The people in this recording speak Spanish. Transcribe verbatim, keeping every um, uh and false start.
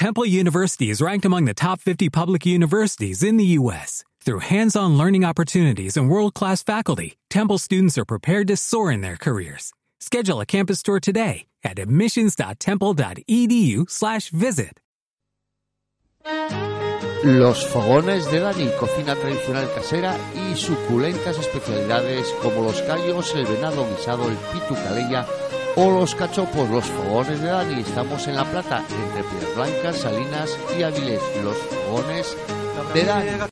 Temple University is ranked among the top fifty public universities in the U S Through hands-on learning opportunities and world-class faculty, Temple students are prepared to soar in their careers. Schedule a campus tour today at admissions.temple.edu slash visit. Los fogones de Dani, cocina tradicional casera y suculentas especialidades como los callos, el venado guisado, el pitu calella o los cachopos. Los fogones de Dani, estamos en La Plata, entre Piedras Blancas, Salinas y Avilés. Los fogones de Dani.